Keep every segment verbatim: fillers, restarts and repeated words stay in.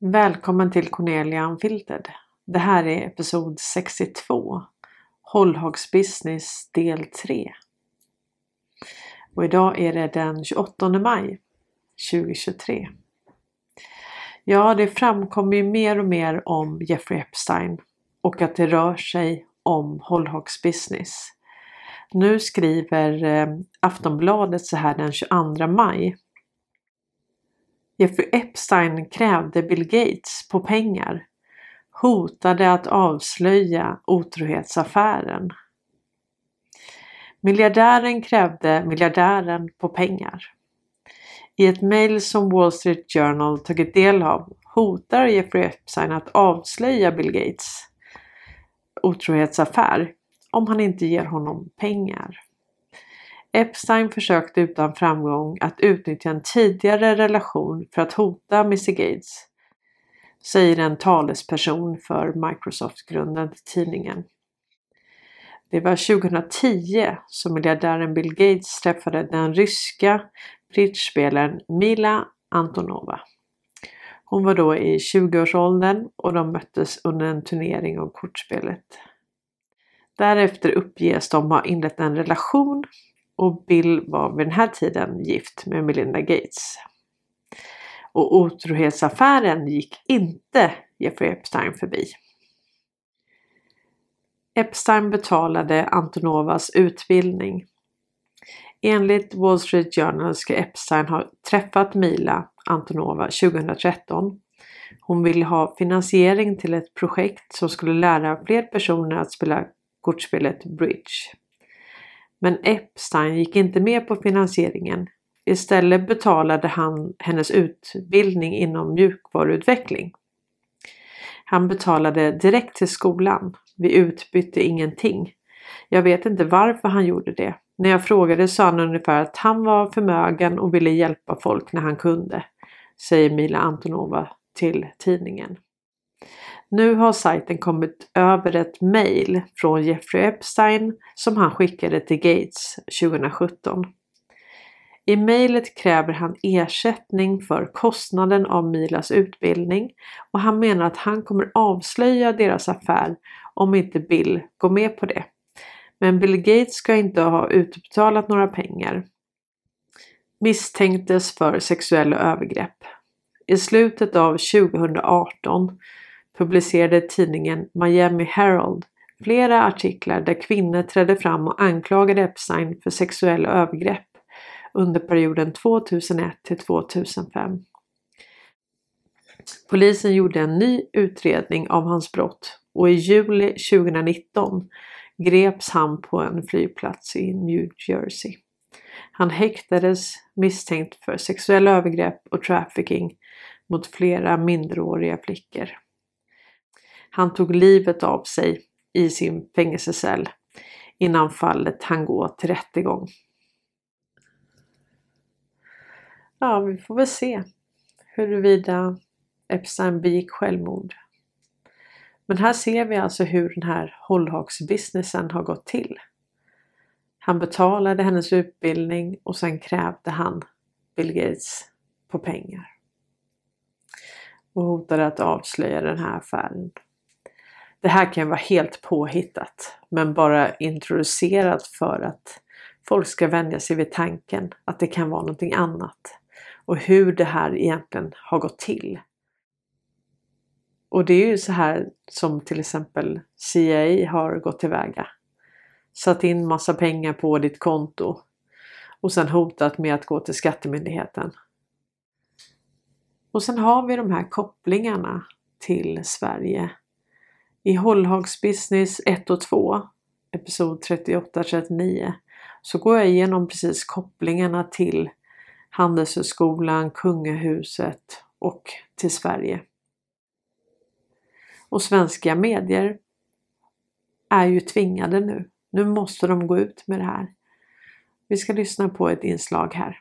Välkommen till Cornelia Unfiltered. Det här är episod sextiotvå. Hållhagsbusiness del tre. Och idag är det den tjugoåttonde maj tjugohundratjugotre. Ja, det framkommer ju mer och mer om Jeffrey Epstein och att det rör sig om hållhagsbusiness. Nu skriver eh, Aftonbladet så här den tjugoandra maj. Jeffrey Epstein krävde Bill Gates på pengar, hotade att avslöja otrohetsaffären. Miljardären krävde miljardären på pengar. I ett mejl som Wall Street Journal tagit del av hotar Jeffrey Epstein att avslöja Bill Gates otrohetsaffär om han inte ger honom pengar. Epstein försökte utan framgång att utnyttja en tidigare relation för att hota mister Gates, säger en talesperson för Microsoft-grunden till tidningen. Det var tjugohundratio som miljardären Bill Gates träffade den ryska bridgespelaren Mila Antonova. Hon var då i tjugoårsåldern och de möttes under en turnering av kortspelet. Därefter uppges de ha inlett en relation och Bill var vid den här tiden gift med Melinda Gates. Och otrohetsaffären gick inte Jeffrey Epstein förbi. Epstein betalade Antonovas utbildning. Enligt Wall Street Journal ska Epstein ha träffat Mila Antonova tjugohundratretton. Hon ville ha finansiering till ett projekt som skulle lära fler personer att spela kortspelet bridge. Men Epstein gick inte med på finansieringen. Istället betalade han hennes utbildning inom mjukvaruutveckling. Han betalade direkt till skolan. Vi utbytte ingenting. Jag vet inte varför han gjorde det. När jag frågade sa han ungefär att han var förmögen och ville hjälpa folk när han kunde, säger Mila Antonova till tidningen. Nu har sajten kommit över ett mejl från Jeffrey Epstein som han skickade till Gates tjugosjutton. I mejlet kräver han ersättning för kostnaden av Milas utbildning och han menar att han kommer avslöja deras affär om inte Bill går med på det. Men Bill Gates ska inte ha utbetalat några pengar. Misstänktes för sexuella övergrepp. I slutet av tjugohundraarton publicerade tidningen Miami Herald flera artiklar där kvinnor trädde fram och anklagade Epstein för sexuella övergrepp under perioden tvåtusenett till tvåtusenfem. Polisen gjorde en ny utredning av hans brott och i juli tjugonitton greps han på en flygplats i New Jersey. Han häktades misstänkt för sexuella övergrepp och trafficking mot flera minderåriga flickor. Han tog livet av sig i sin fängelsecell innan fallet han gå till rättegång. Ja, vi får väl se huruvida Epstein begick självmord. Men här ser vi alltså hur den här hållhagsbusinessen har gått till. Han betalade hennes utbildning och sen krävde han Bill Gates på pengar. Och hotade att avslöja den här affären. Det här kan vara helt påhittat, men bara introducerat för att folk ska vänja sig vid tanken att det kan vara någonting annat. Och hur det här egentligen har gått till. Och det är ju så här som till exempel C I A har gått tillväga. Satt in massa pengar på ditt konto. Och sen hotat med att gå till skattemyndigheten. Och sen har vi de här kopplingarna till Sverige. I Hållhagsbusiness ett och två, episod trettioåtta trettionio, så går jag igenom precis kopplingarna till Handelshögskolan, Kungahuset och till Sverige. Och svenska medier är ju tvingade nu. Nu måste de gå ut med det här. Vi ska lyssna på ett inslag här.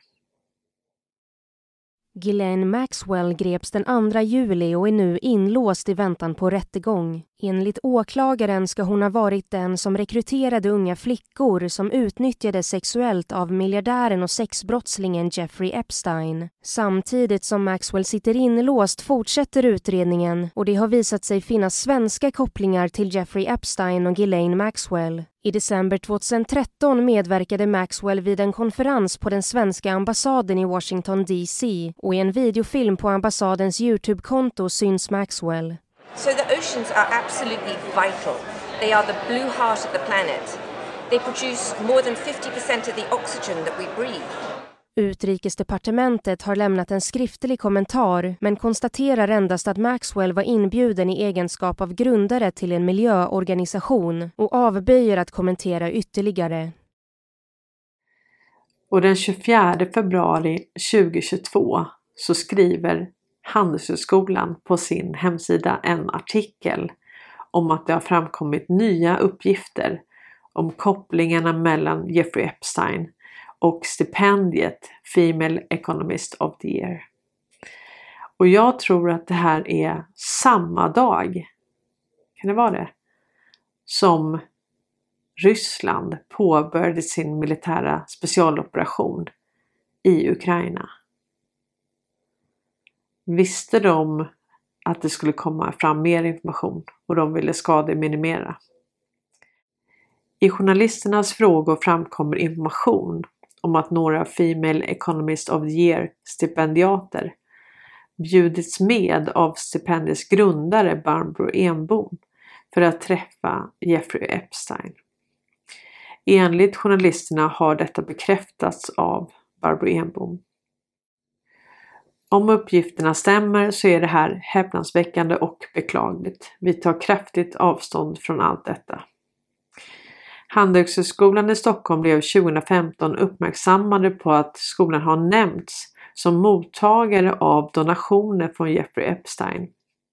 Ghislaine Maxwell greps den andra juli och är nu inlåst i väntan på rättegång. Enligt åklagaren ska hon ha varit den som rekryterade unga flickor som utnyttjades sexuellt av miljardären och sexbrottslingen Jeffrey Epstein. Samtidigt som Maxwell sitter inlåst fortsätter utredningen och det har visat sig finnas svenska kopplingar till Jeffrey Epstein och Ghislaine Maxwell. I december tjugohundratretton medverkade Maxwell vid en konferens på den svenska ambassaden i Washington D C och i en videofilm på ambassadens YouTube-konto syns Maxwell. So the oceans are absolutely vital. They are the blue heart of the planet. They produce more than fifty percent of the oxygen that we breathe. Utrikesdepartementet har lämnat en skriftlig kommentar men konstaterar endast att Maxwell var inbjuden i egenskap av grundare till en miljöorganisation och avböjer att kommentera ytterligare. Och den tjugofjärde februari tjugohundratjugotvå så skriver Handelshögskolan på sin hemsida en artikel om att det har framkommit nya uppgifter om kopplingarna mellan Jeffrey Epstein och stipendiet Female Economist of the Year. Och jag tror att det här är samma dag, kan det vara det, som Ryssland påbörjade sin militära specialoperation i Ukraina. Visste de att det skulle komma fram mer information och de ville skademinimera. I journalisternas frågor framkommer information om att några Female Economist of the Year stipendiater bjudits med av stipendiets grundare Barbro Enbom för att träffa Jeffrey Epstein. Enligt journalisterna har detta bekräftats av Barbro Enbom. Om uppgifterna stämmer så är det här häpnadsväckande och beklagligt. Vi tar kraftigt avstånd från allt detta. Handelshögskolan i Stockholm blev tjugohundrafemton uppmärksammade på att skolan har nämnts som mottagare av donationer från Jeffrey Epstein.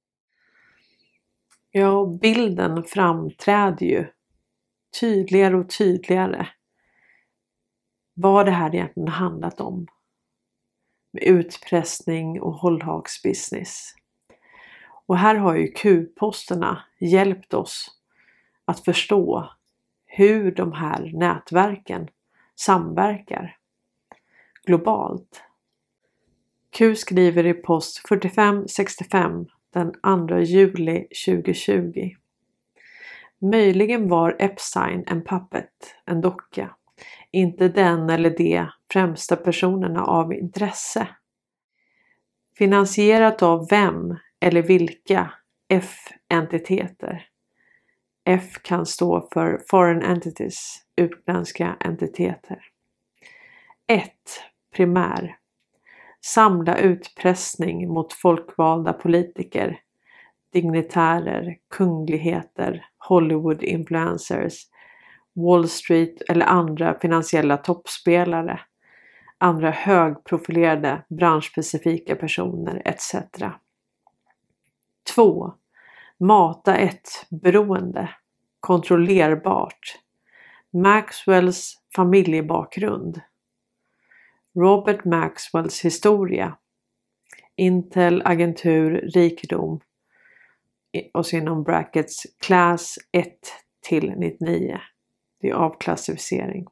Ja, bilden framträder ju tydligare och tydligare vad det här egentligen handlat om. Med utpressning och hållhaksbusiness. Och här har ju Q-posterna hjälpt oss att förstå hur de här nätverken samverkar globalt. Q skriver i post fyrtiofem sextiofem den andra juli tjugohundratjugo. Möjligen var Epstein en puppet, en docka. Inte den eller de främsta personerna av intresse. Finansierat av vem eller vilka F-entiteter. F kan stå för Foreign Entities, utländska entiteter. ett. Primär. Samla utpressning mot folkvalda politiker, dignitärer, kungligheter, Hollywood-influencers, Wall Street eller andra finansiella toppspelare, andra högprofilerade branschspecifika personer et cetera. två. Mata ett beroende, kontrollerbart. Maxwells familjebakgrund. Robert Maxwells historia. Intel, agentur, rikedom. Och så inom brackets klass ett till nittionio. Det är avklassificering.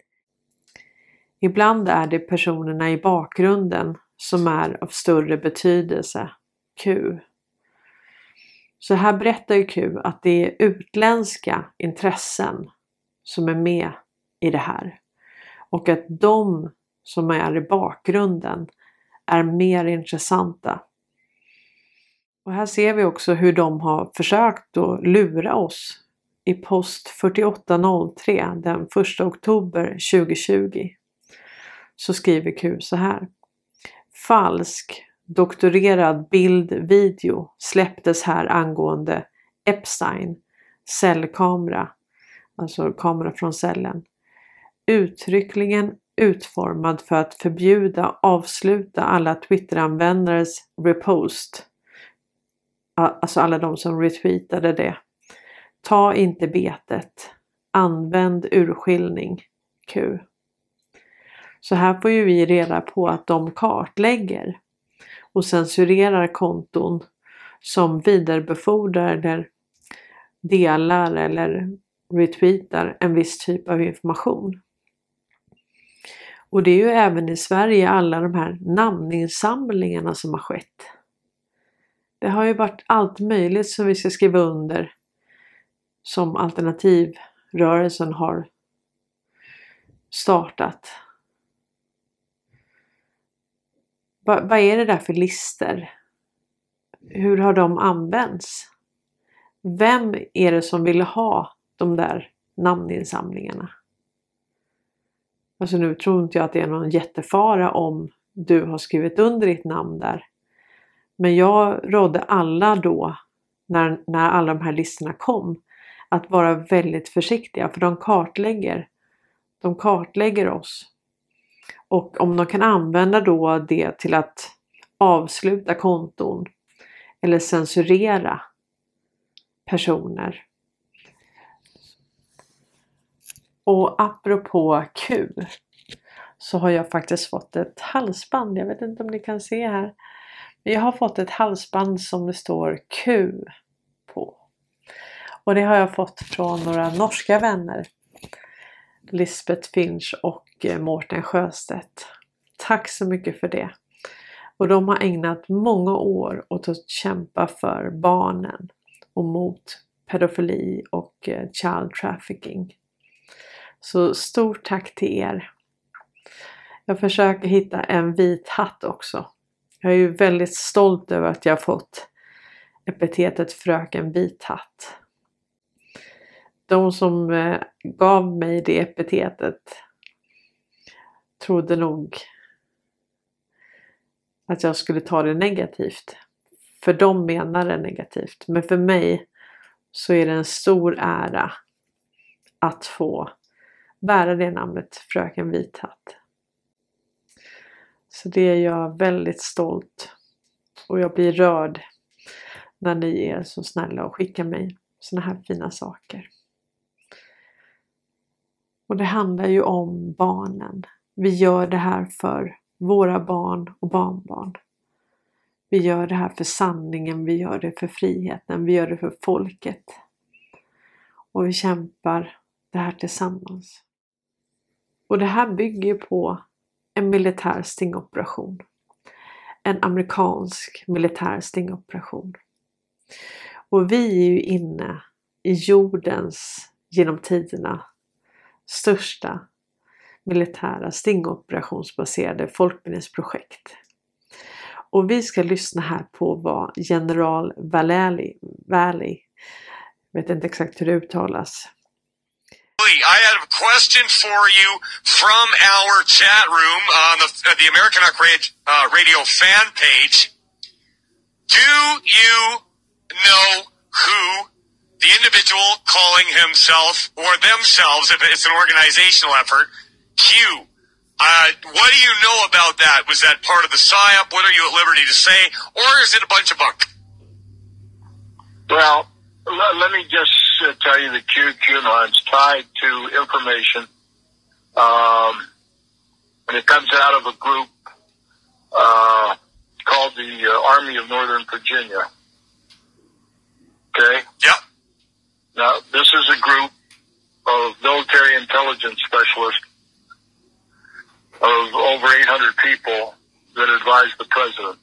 Ibland är det personerna i bakgrunden som är av större betydelse. Q. Så här berättar ju Q att det är utländska intressen som är med i det här. Och att de som är i bakgrunden är mer intressanta. Och här ser vi också hur de har försökt att lura oss. I post fyrtioåtta noll tre den första oktober tjugohundratjugo så skriver Q så här. Falsk doktorerad bild-video släpptes här angående Epstein cellkamera, alltså kamera från cellen. Uttryckligen utformad för att förbjuda avsluta alla Twitter-användares repost. Alltså alla de som retweetade det. Ta inte betet. Använd urskiljning. Q. Så här får ju vi reda på att de kartlägger och censurerar konton som vidarebefordrar eller delar eller retweetar en viss typ av information. Och det är ju även i Sverige alla de här namninsamlingarna som har skett. Det har ju varit allt möjligt som vi ska skriva under som alternativrörelsen har startat. Va, vad är det där för lister? Hur har de använts? Vem är det som vill ha de där namninsamlingarna? Alltså nu tror inte jag att det är någon jättefara om du har skrivit under ditt namn där. Men jag rådde alla då, när, när alla de här listorna kom, att vara väldigt försiktiga. För de kartlägger, de kartlägger oss. Och om de kan använda då det till att avsluta konton eller censurera personer. Och apropå Q så har jag faktiskt fått ett halsband. Jag vet inte om ni kan se här. Men jag har fått ett halsband som det står Q på. Och det har jag fått från några norska vänner. Lisbeth Finch och Mårten Sjöstedt. Tack så mycket för det. Och de har ägnat många år åt att kämpa för barnen och mot pedofili och child trafficking. Så stort tack till er. Jag försöker hitta en vit hatt också. Jag är ju väldigt stolt över att jag har fått epitetet fröken vit hatt. De som eh, gav mig det epitetet trodde nog att jag skulle ta det negativt. För de menar det negativt. Men för mig så är det en stor ära att få bära det namnet fröken Vithatt. Så det är jag väldigt stolt. Och jag blir rörd när ni är så snälla och skickar mig såna här fina saker. Och det handlar ju om barnen. Vi gör det här för våra barn och barnbarn. Vi gör det här för sanningen, vi gör det för friheten, vi gör det för folket. Och vi kämpar det här tillsammans. Och det här bygger på en militär stingoperation. En amerikansk militär stingoperation. Och vi är ju inne i jordens genom tiderna största militära stingoperationsbaserade folkbildningsprojekt. Och vi ska lyssna här på vad general Valley, Valley, jag vet inte exakt hur det uttalas. I have a question for you from our chat room on the, uh, the American Rock uh, Radio fan page. Do you know who the individual calling himself or themselves, if it's an organizational effort, Q? Uh, what do you know about that? Was that part of the psyop? What are you at liberty to say? Or is it a bunch of bunk? Well, let, let me just uh, tell you the Q QAnon's tied to information. Um, and it comes out of a group uh, called the uh, Army of Northern Virginia. Okay? Yep. Now, this is a group of military intelligence specialists of over eight hundred people that advise the president.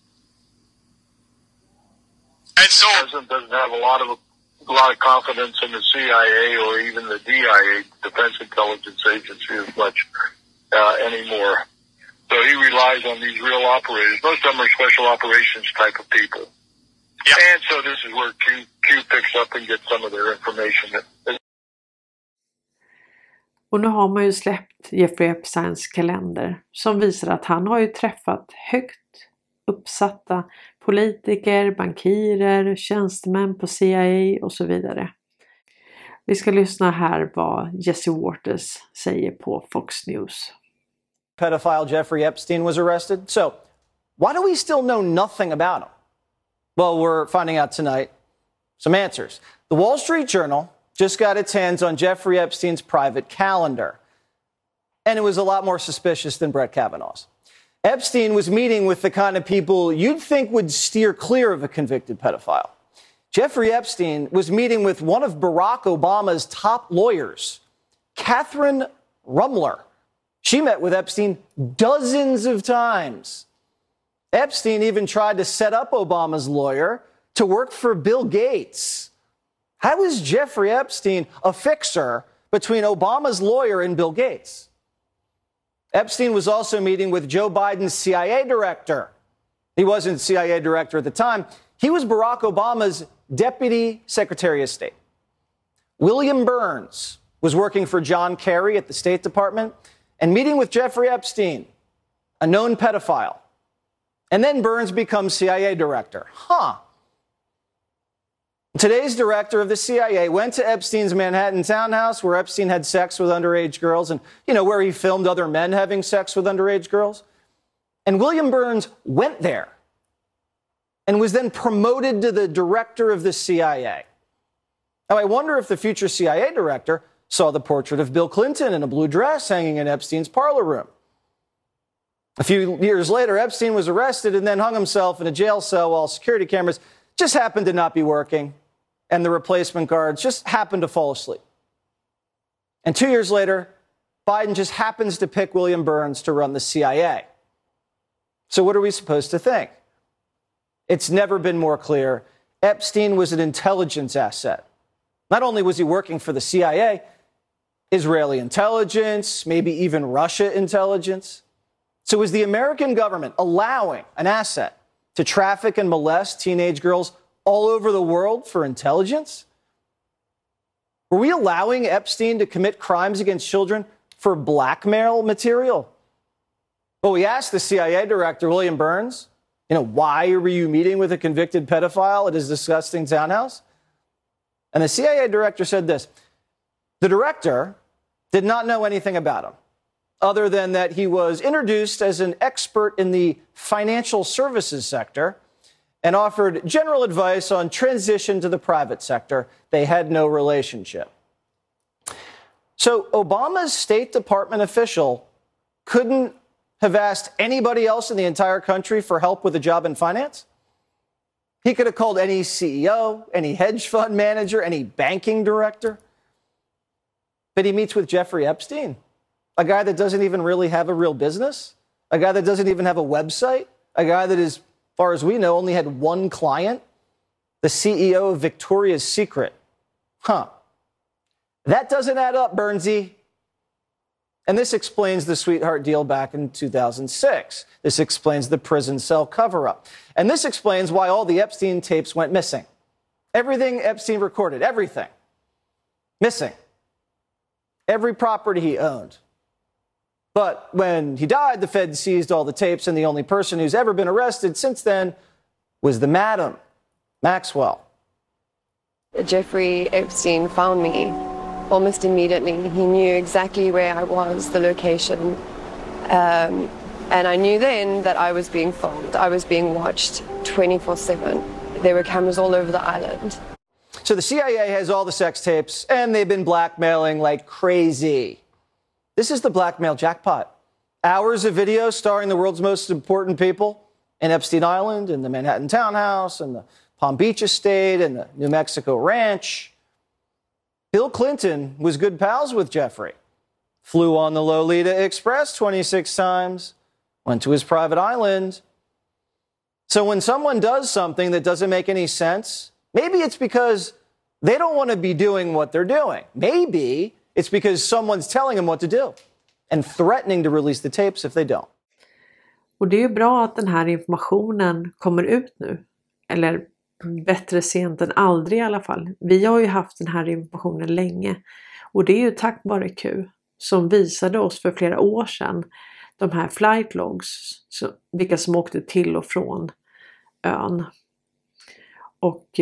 And so, the president doesn't have a lot of a lot of confidence in the C I A or even the D I A, Defense Intelligence Agency, as much uh, anymore. So he relies on these real operators. Most of them are special operations type of people. yeah. And so this is where Q, Q picks up and gets some of their information. Och nu har man ju släppt Jeffrey Epsteins kalender som visar att han har ju träffat högt uppsatta politiker, bankirer, tjänstemän på C I A och så vidare. Vi ska lyssna här vad Jesse Waters säger på Fox News. Pedophile Jeffrey Epstein was arrested. So, why do we still know nothing about him? Well, we're finding out tonight some answers. The Wall Street Journal just got its hands on Jeffrey Epstein's private calendar. And it was a lot more suspicious than Brett Kavanaugh's. Epstein was meeting with the kind of people you'd think would steer clear of a convicted pedophile. Jeffrey Epstein was meeting with one of Barack Obama's top lawyers, Catherine Rumler. She met with Epstein dozens of times. Epstein even tried to set up Obama's lawyer to work for Bill Gates. How is Jeffrey Epstein a fixer between Obama's lawyer and Bill Gates? Epstein was also meeting with Joe Biden's C I A director. He wasn't C I A director at the time. He was Barack Obama's Deputy Secretary of State. William Burns was working for John Kerry at the State Department and meeting with Jeffrey Epstein, a known pedophile. And then Burns becomes C I A director. Huh. Today's director of the C I A went to Epstein's Manhattan townhouse where Epstein had sex with underage girls and, you know, where he filmed other men having sex with underage girls. And William Burns went there and was then promoted to the director of the C I A. Now, I wonder if the future C I A director saw the portrait of Bill Clinton in a blue dress hanging in Epstein's parlor room. A few years later, Epstein was arrested and then hung himself in a jail cell while security cameras just happened to not be working and the replacement guards just happened to fall asleep. And two years later, Biden just happens to pick William Burns to run the C I A. So what are we supposed to think? It's never been more clear. Epstein was an intelligence asset. Not only was he working for the C I A, Israeli intelligence, maybe even Russia intelligence. So was the American government allowing an asset to traffic and molest teenage girls all over the world for intelligence? Were we allowing Epstein to commit crimes against children for blackmail material? Well, we asked the C I A director, William Burns, you know, why were you meeting with a convicted pedophile at his disgusting townhouse? And the C I A director said this: the director did not know anything about him, other than that he was introduced as an expert in the financial services sector and offered general advice on transition to the private sector. They had no relationship. So Obama's State Department official couldn't have asked anybody else in the entire country for help with a job in finance? He could have called any C E O, any hedge fund manager, any banking director. But he meets with Jeffrey Epstein, a guy that doesn't even really have a real business, a guy that doesn't even have a website, a guy that, as far as we know, only had one client, the C E O of Victoria's Secret. Huh. That doesn't add up, Burnsy. And this explains the sweetheart deal back in two thousand six. This explains the prison cell cover-up. And this explains why all the Epstein tapes went missing. Everything Epstein recorded, everything, missing. Every property he owned. But when he died, the Fed seized all the tapes, and the only person who's ever been arrested since then was the Madam, Maxwell. Jeffrey Epstein found me almost immediately. He knew exactly where I was, the location. Um, and I knew then that I was being filmed. I was being watched twenty-four seven. There were cameras all over the island. So the C I A has all the sex tapes, and they've been blackmailing like crazy. This is the blackmail jackpot. Hours of video starring the world's most important people in Epstein Island, in the Manhattan townhouse, and the Palm Beach estate, and the New Mexico ranch. Bill Clinton was good pals with Jeffrey. Flew on the Lolita Express twenty-six times. Went to his private island. So when someone does something that doesn't make any sense, maybe it's because they don't want to be doing what they're doing. Maybe it's because someone's telling them what to do and threatening to release the tapes if they don't. Och det är ju bra att den här informationen kommer ut nu. Eller bättre sent än aldrig i alla fall. Vi har ju haft den här informationen länge. Och det är ju tack vare Q som visade oss för flera år sedan de här flight logs. Så, vilka som åkte till och från ön. Och,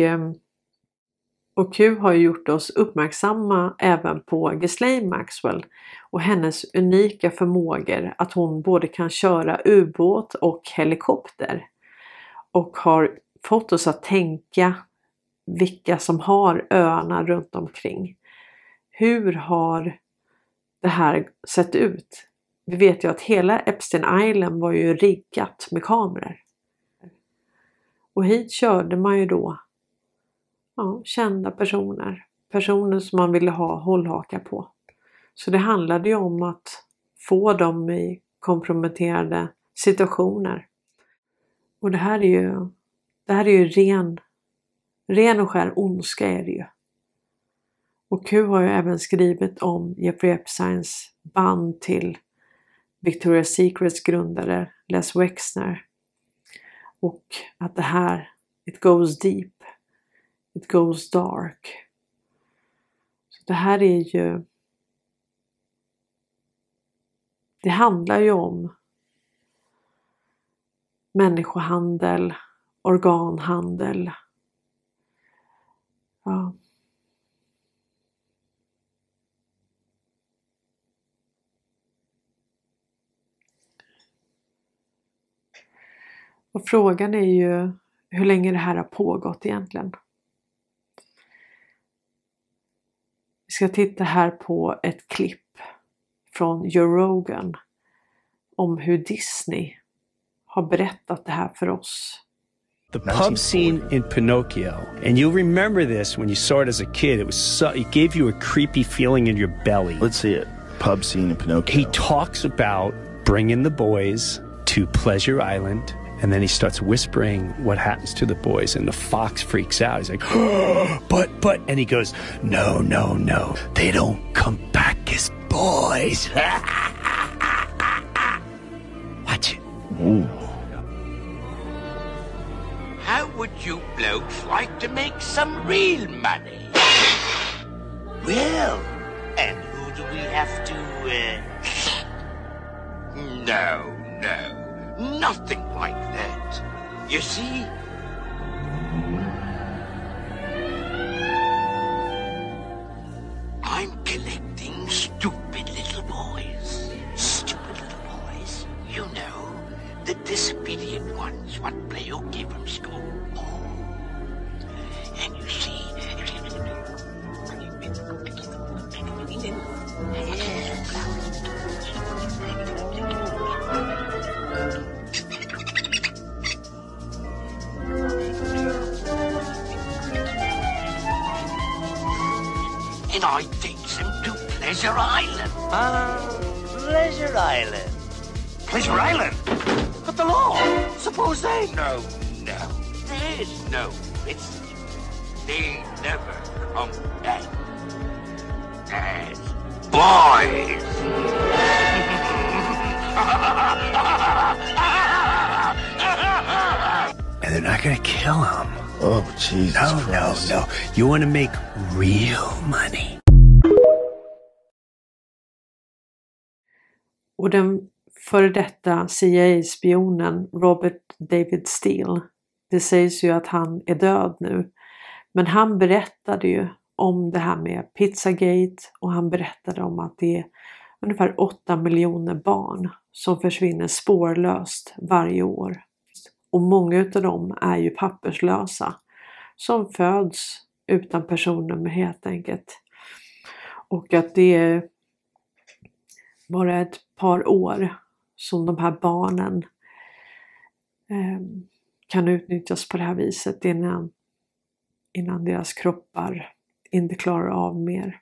och Q har ju gjort oss uppmärksamma även på Ghislaine Maxwell och hennes unika förmågor att hon både kan köra ubåt och helikopter. Och har fått oss att tänka vilka som har öarna runt omkring. Hur har det här sett ut? Vi vet ju att hela Epstein Island var ju riggat med kameror. Och hit körde man ju då ja, kända personer. Personer som man ville ha hållhaka på. Så det handlade ju om att få dem i komprometterade situationer. Och det här är ju, det här är ju ren, ren och skär ondska är det ju. Och Q har ju även skrivit om Jeffrey Epsteins band till Victoria's Secrets grundare Les Wexner. Och att det här, it goes deep, it goes dark. Så det här är ju, det handlar ju om människohandel, organhandel. Ja. Och frågan är ju hur länge det här har pågått egentligen. Vi ska titta här på ett klipp från Joe Rogan om hur Disney har berättat det här för oss. The pub scene in Pinocchio, and you'll remember this when you saw it as a kid. It was so, it gave you a creepy feeling in your belly. Let's see it. Pub scene in Pinocchio. He talks about bringing the boys to Pleasure Island, and then he starts whispering what happens to the boys, and the fox freaks out. He's like, oh, but, but, and he goes, no, no, no, they don't come back as boys. Watch it. Ooh. How would you blokes like to make some real money? Well, and who do we have to, uh... No, no, nothing like that. You see? I'm collecting stupid little boys. Stupid little boys. You know, the disobedient ones what play hooky from school. And you see... And I takes them to Pleasure Island. Ah, Pleasure Island. Pleasure Island? But the law, suppose they... No, no, there's no risk. They never come back as boys. And they're not gonna kill him. Oh, Jesus No, Christ. no, no. You want to make real money. Och den före detta C I A-spionen Robert David Steele, det sägs ju att han är död nu. Men han berättade ju om det här med Pizzagate och han berättade om att det är ungefär åtta miljoner barn som försvinner spårlöst varje år. Och många av dem är ju papperslösa som föds utan personnummer helt enkelt. Och att det är bara ett par år som de här barnen eh, kan utnyttjas på det här viset innan, innan deras kroppar inte klarar av mer.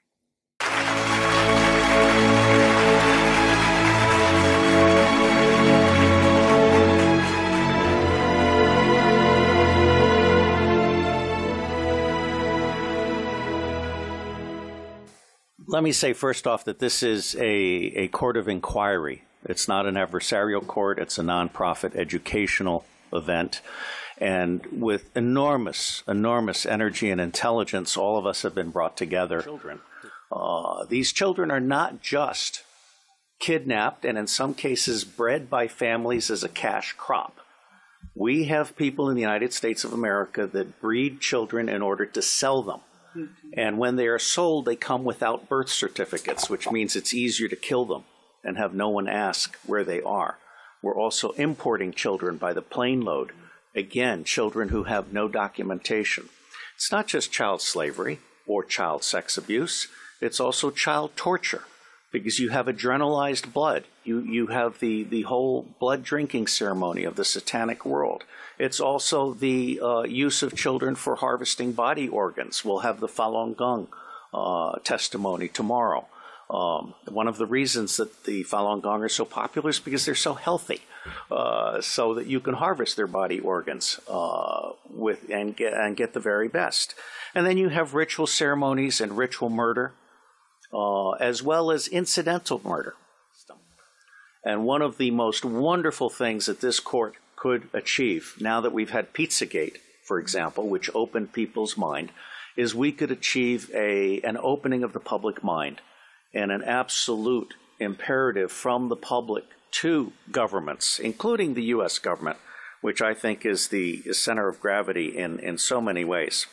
Let me say first off that this is a, a court of inquiry. It's not an adversarial court. It's a nonprofit educational event. And with enormous, enormous energy and intelligence, all of us have been brought together. Children. Uh, these children are not just kidnapped and in some cases bred by families as a cash crop. We have people in the United States of America that breed children in order to sell them. And when they are sold, they come without birth certificates, which means it's easier to kill them and have no one ask where they are. We're also importing children by the plane load. Again, children who have no documentation. It's not just child slavery or child sex abuse. It's also child torture. because you have adrenalized blood. You you have the, the whole blood drinking ceremony of the satanic world. It's also the uh, use of children for harvesting body organs. We'll have the Falun Gong uh, testimony tomorrow. Um, one of the reasons that the Falun Gong are so popular is because they're so healthy, uh, so that you can harvest their body organs uh, with and get and get the very best. And then you have ritual ceremonies and ritual murder, uh, as well as incidental murder. And one of the most wonderful things that this court could achieve, now that we've had Pizzagate, for example, which opened people's mind, is we could achieve a an opening of the public mind and an absolute imperative from the public to governments, including the U S government, which I think is the center of gravity in, in so many ways.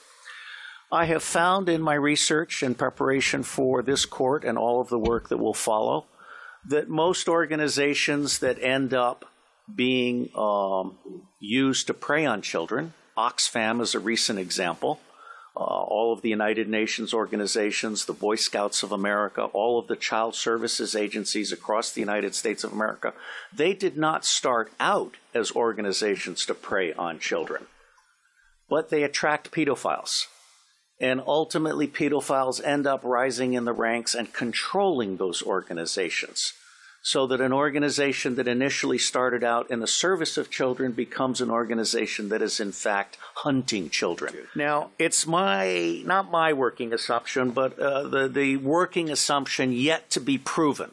I have found in my research and preparation for this court and all of the work that will follow that most organizations that end up being um, used to prey on children, Oxfam is a recent example, Uh, all of the United Nations organizations, the Boy Scouts of America, all of the child services agencies across the United States of America, they did not start out as organizations to prey on children, but they attract pedophiles. And ultimately, pedophiles end up rising in the ranks and controlling those organizations, so that an organization that initially started out in the service of children becomes an organization that is in fact hunting children. Now, it's my, not my working assumption, but uh, the, the working assumption yet to be proven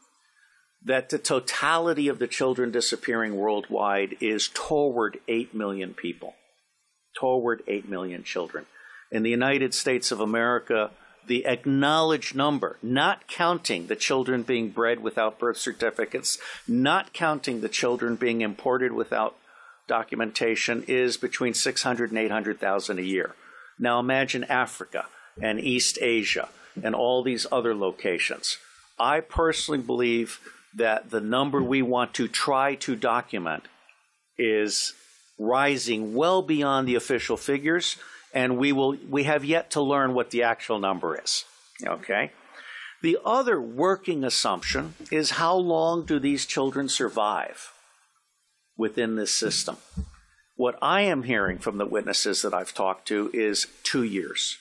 that the totality of the children disappearing worldwide is toward eight million people, toward eight million children. In the United States of America, the acknowledged number, not counting the children being bred without birth certificates, not counting the children being imported without documentation, is between six hundred and eight hundred thousand a year. Now imagine Africa and East Asia and all these other locations. I personally believe that the number we want to try to document is rising well beyond the official figures, and we will we have yet to learn what the actual number is. Okay? The other working assumption is, how long do these children survive within this system? What I am hearing from the witnesses that I've talked to is two years.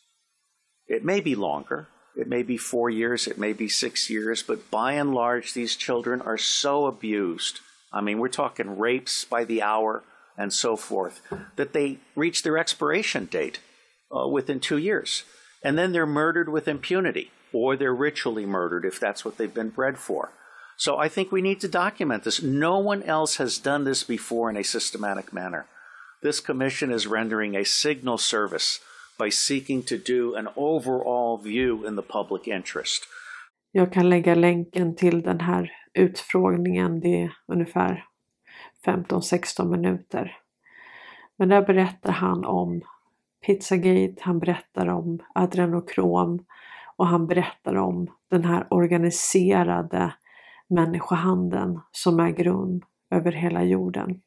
It may be longer. It may be four years. It may be six years. But by and large, these children are so abused. I mean, we're talking rapes by the hour and so forth, that they reach their expiration date uh, within two years. And then they're murdered with impunity, or they're ritually murdered if that's what they've been bred for. So I think we need to document this. No one else has done this before in a systematic manner. This commission is rendering a signal service by seeking to do an overall view in the public interest. Jag kan lägga länken till den här utfrågningen. Det är ungefär femton sexton minuter. Men där berättar han om Pizzagate, han berättar om adrenokrom och han berättar om den här organiserade människohandeln som äger rum över hela jorden.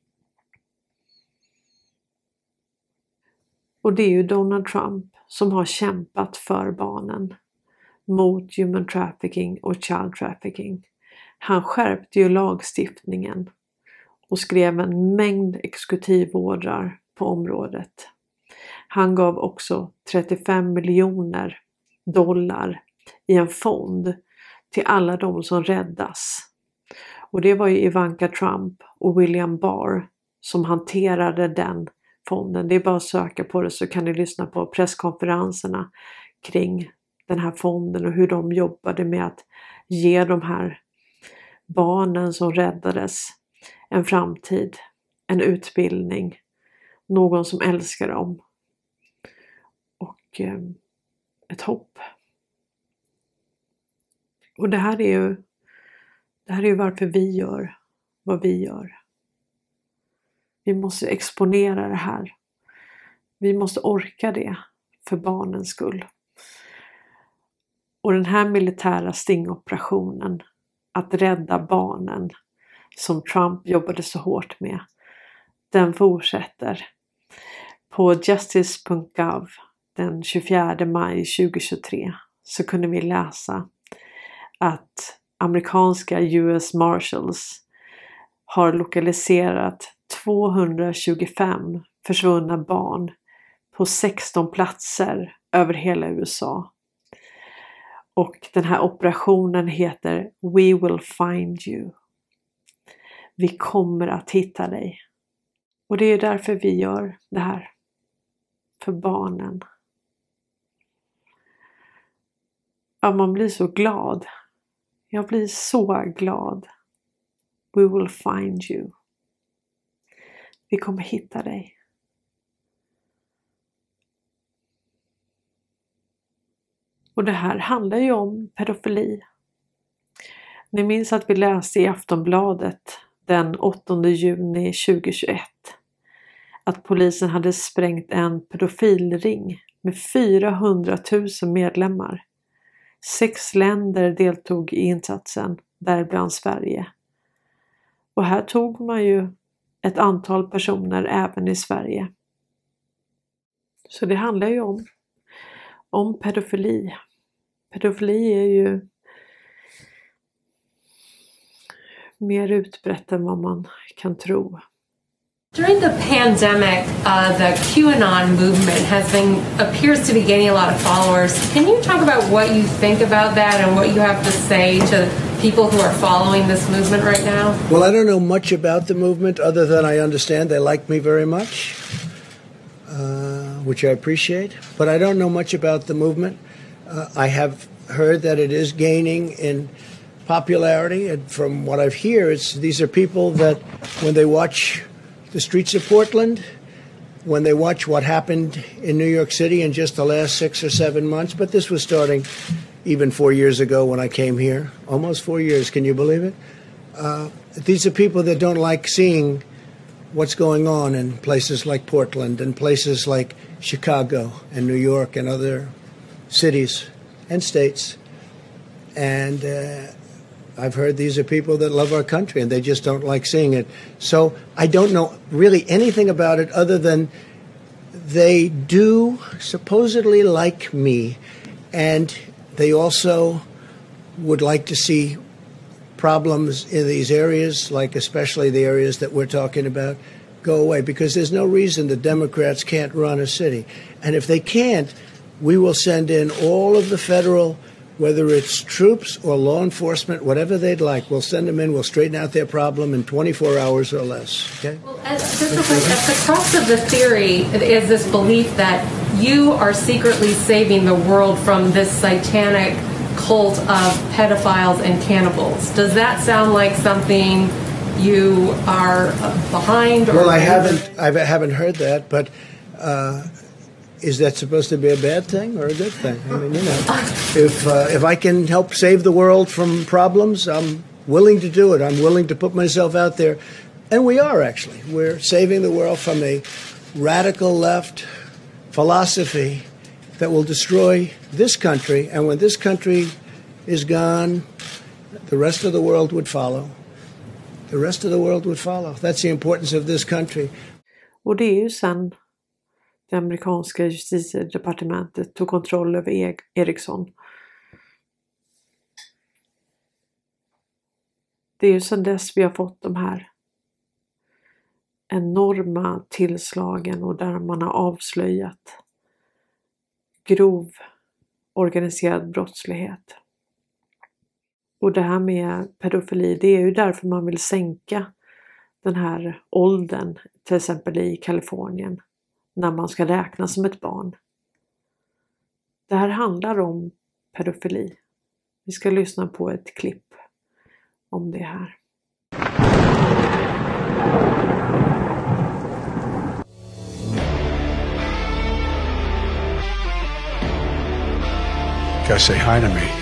Och det är ju Donald Trump som har kämpat för barnen mot human trafficking och child trafficking. Han skärpte ju lagstiftningen och skrev en mängd exekutivordrar på området. Han gav också trettiofem miljoner dollar i en fond till alla de som räddas. Och det var ju Ivanka Trump och William Barr som hanterade den fonden. Det är bara att söka på det, så kan ni lyssna på presskonferenserna kring den här fonden och hur de jobbade med att ge de här barnen som räddades en framtid, en utbildning, någon som älskar dem och eh, ett hopp. Och det här är ju det här är ju varför vi gör vad vi gör. Vi måste exponera det här. Vi måste orka det för barnens skull. Och den här militära stingoperationen, att rädda barnen som Trump jobbade så hårt med, den fortsätter. På justice punkt gov den tjugofjärde maj tjugohundratjugotre så kunde vi läsa att amerikanska U S Marshals har lokaliserat tvåhundratjugofem försvunna barn på sexton platser över hela U S A. Och den här operationen heter We Will Find You. Vi kommer att hitta dig. Och det är därför vi gör det här. För barnen. Ja, man blir så glad. Jag blir så glad. We will find you. Vi kommer hitta dig. Och det här handlar ju om pedofili. Ni minns att vi läste i Aftonbladet den åttonde juni tjugohundratjugoett att polisen hade sprängt en pedofilring med fyrahundratusen medlemmar. Sex länder deltog i insatsen, däribland Sverige. Och här tog man ju ett antal personer även i Sverige. Så det handlar ju om, om pedofili. Pedofili är ju mer utbrett än vad man kan tro. During the pandemic, uh, the QAnon movement has been appears to be gaining a lot of followers. Can you talk about what you think about that and what you have to say to people who are following this movement right now? Well, I don't know much about the movement other than I understand they like me very much, uh, which I appreciate. But I don't know much about the movement. Uh, I have heard that it is gaining in popularity, and from what I've heard, it's these are people that when they watch the streets of Portland, when they watch what happened in New York City in just the last six or seven months, but this was starting even four years ago when I came here, almost four years, can you believe it? Uh, these are people that don't like seeing what's going on in places like Portland and places like Chicago and New York and other cities and states. And uh, I've heard these are people that love our country and they just don't like seeing it. So I don't know really anything about it other than they do supposedly like me, and they also would like to see problems in these areas, like especially the areas that we're talking about, go away, because there's no reason the Democrats can't run a city. And if they can't, we will send in all of the federal, whether it's troops or law enforcement, whatever they'd like, we'll send them in, we'll straighten out their problem in twenty-four hours or less. Okay? Well, at, just real quick, at the crux of the theory is this belief that you are secretly saving the world from this satanic cult of pedophiles and cannibals. Does that sound like something you are behind? Or well, I haven't, I haven't heard that, but uh, is that supposed to be a bad thing or a good thing? I mean, you know, if uh, if I can help save the world from problems, I'm willing to do it. I'm willing to put myself out there. And we are, actually. We're saving the world from a radical left philosophy that will destroy this country. And when this country is gone, the rest of the world would follow. The rest of the world would follow. That's the importance of this country. Och det är ju sen det amerikanska justitiedepartementet tog kontroll över Ericsson. Det är ju sedan dess vi har fått de här enorma tillslagen och där man har avslöjat grov organiserad brottslighet. Och det här med pedofili, det är ju därför man vill sänka den här åldern, till exempel i Kalifornien, när man ska räknas som ett barn. Det här handlar om pedofili. Vi ska lyssna på ett klipp om det här. Gotta say hi to me.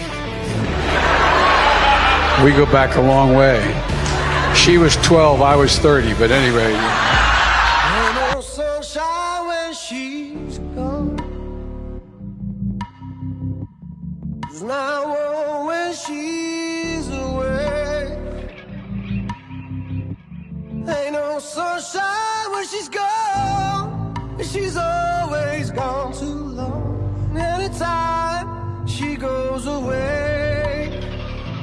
We go back a long way. She was twelve, I was thirty, but anyway. Ain't no sunshine when she's gone. There's not one when she's away. Ain't no sunshine when she's gone. She's always gone too long. Anytime she goes away,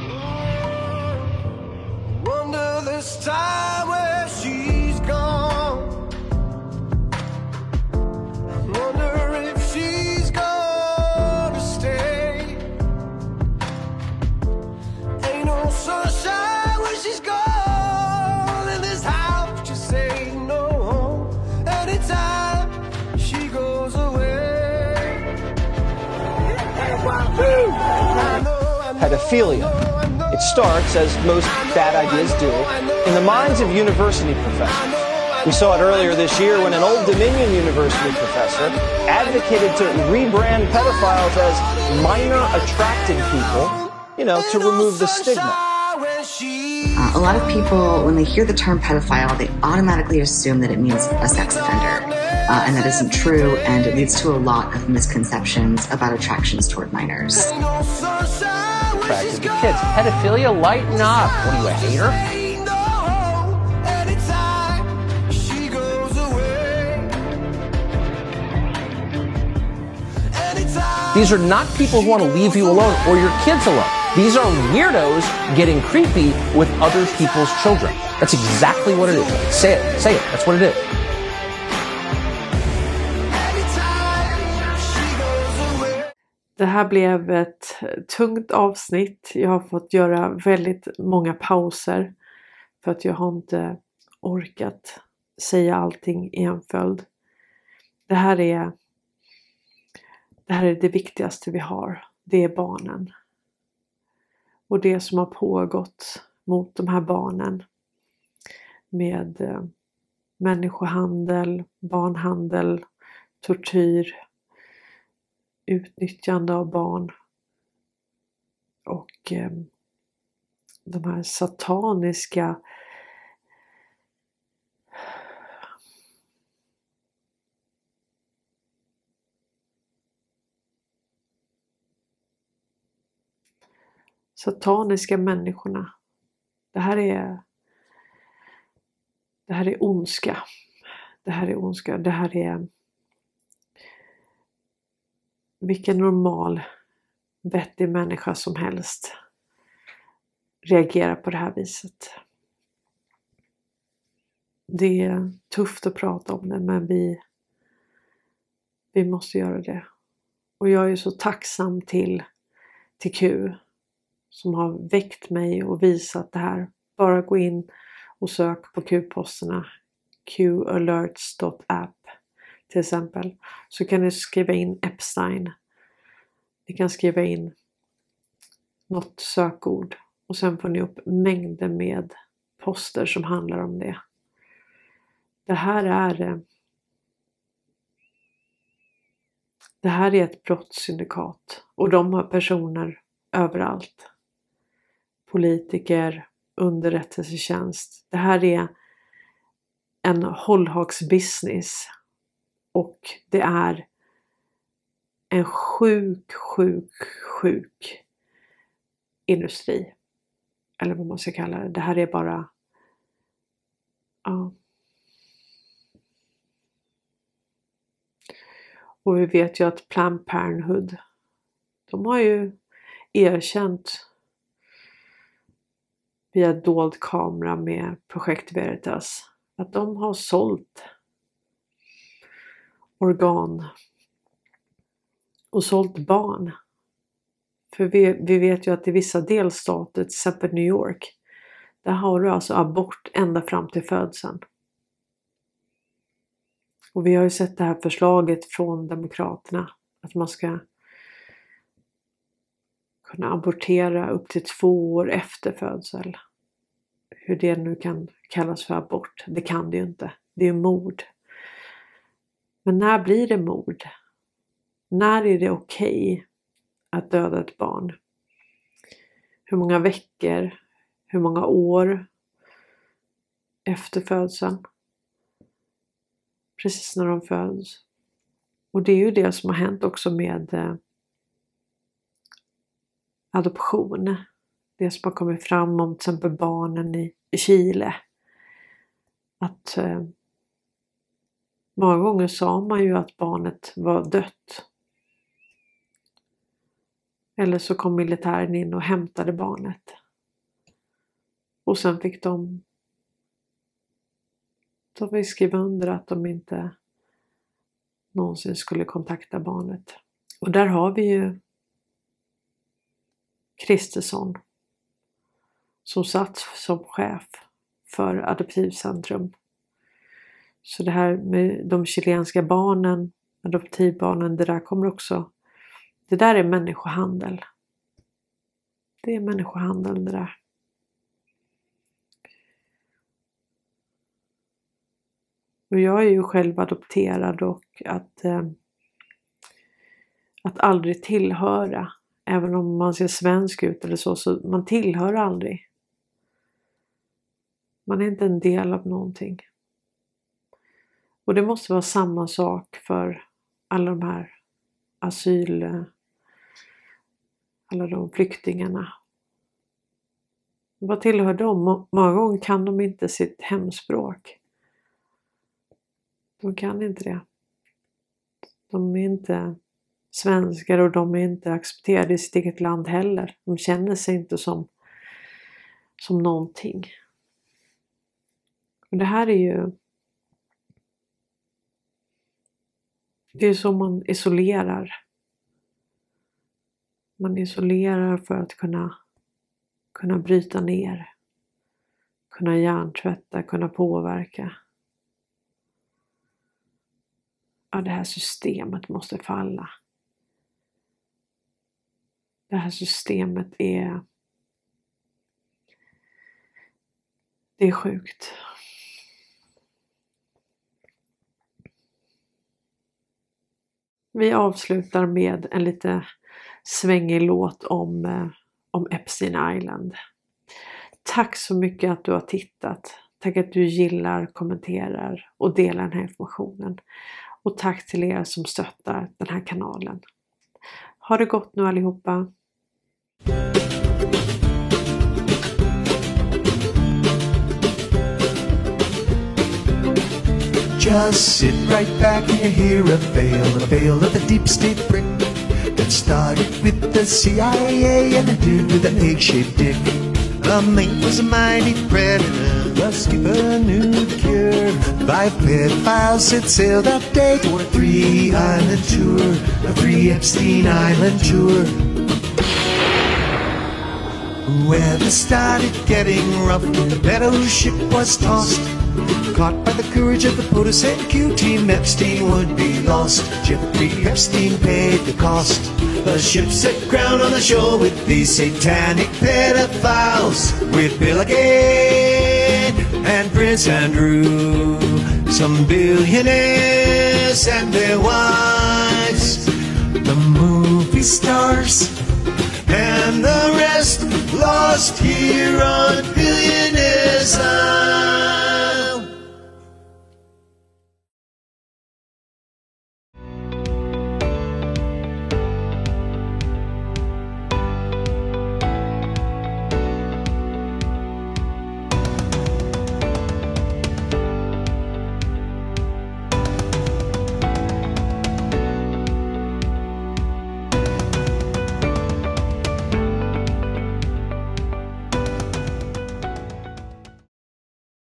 time where she's gone. I wonder if she's gonna stay. Ain't no sunshine when she's gone, and this house just ain't no home anytime she goes away. Pedophilia. It starts, as most bad ideas do, in the minds of university professors. We saw it earlier this year when an Old Dominion University professor advocated to rebrand pedophiles as minor-attracted people, you know, to remove the stigma. Uh, a lot of people, when they hear the term pedophile, they automatically assume that it means a sex offender. Uh, and that isn't true, and it leads to a lot of misconceptions about attractions toward minors. Attracted to kids. Pedophilia, lighten up. What are you, a hater? These are not people who want to leave you alone or your kids alone. These are weirdos getting creepy with other people's children. That's exactly what it is. Say it. Say it. That's what it is. Det här blev ett tungt avsnitt. Jag har fått göra väldigt många pauser för att jag har inte orkat säga allting i en följd. Det här är det här är det viktigaste vi har. Det är barnen. Och det som har pågått mot de här barnen med eh, människohandel, barnhandel, tortyr, utnyttjande av barn och eh, de här sataniska sataniska människorna. Det här är det här är ondska. Det här är ondska. Det här är vilken normal vettig människa som helst reagerar på det här viset. Det är tufft att prata om det, men vi vi måste göra det. Och jag är så tacksam till till Q som har väckt mig och visat det här. Bara gå in och sök på Q-posterna q alerts dot app till exempel. Så kan ni skriva in Epstein. Ni kan skriva in något sökord och sen får ni upp mängder med poster som handlar om det. Det här är det här är ett brottssyndikat och de har personer överallt. Politiker, underrättelsetjänst. Det här är en hållhaksbusiness och det är en sjuk, sjuk, sjuk industri. Eller vad man ska kalla det. Det här är bara ja. Och vi vet ju att Planned Parenthood, de har ju erkänt via dold kamera med Projekt Veritas att de har sålt organ och sålt barn. För vi, vi vet ju att i vissa delstater, till exempel New York, där har du alltså abort ända fram till födseln. Och vi har ju sett det här förslaget från demokraterna att man ska kunna abortera upp till två år efter födsel. Hur det nu kan kallas för abort, det kan det ju inte. Det är ju mord. Men när blir det mord? När är det okej att döda ett barn? Hur många veckor? Hur många år efter födseln? Precis när de föds. Och det är ju det som har hänt också med eh, adoption. Det som har kommit fram om till exempel barnen i, i Chile. Att eh, många gånger sa man ju att barnet var dött. Eller så kom militären in och hämtade barnet. Och sen fick de De vill skriva under att de inte någonsin skulle kontakta barnet. Och där har vi ju Kristersson som satt som chef för Adoptivcentrum. Så det här med de chilenska barnen, adoptivbarnen, det där kommer också, det där är människohandel. Det är människohandel det där. Och jag är ju själv adopterad och att, eh, att aldrig tillhöra, även om man ser svensk ut eller så, så man tillhör aldrig. Man är inte en del av någonting. Och det måste vara samma sak för alla de här asyl, alla de flyktingarna. Vad tillhör de? Många gånger kan de inte sitt hemspråk. De kan inte det. De är inte svenskar och de är inte accepterade i sitt eget land heller. De känner sig inte som, som någonting. Och det här är ju, det är så man isolerar. Man isolerar för att kunna, kunna bryta ner. Kunna hjärntvätta, kunna påverka. Ja, det här systemet måste falla. Det här systemet är, det är sjukt. Vi avslutar med en lite svängig låt om, eh, om Epstein Island. Tack så mycket att du har tittat. Tack att du gillar, kommenterar och delar den här informationen. Och tack till er som stöttar den här kanalen. Ha det gott nu allihopa. Just sit right back and you hear a fail, a fail of the deep state brick that started with the C I A and ended with an egg-shaped dick. The mate was a mighty predator, the skipper knew the cure. Five pedophiles set sail that day for a three-island tour, a three Epstein Island tour. Weather started getting rough, the battleship was tossed. Caught by the courage of the POTUS and Q team, Epstein would be lost. Jeffrey Epstein paid the cost. The ship set ground on the shore with these satanic pedophiles, with Bill Gates and Prince Andrew, some billionaires and their wives, the movie stars and the rest lost here on Billionaires Island.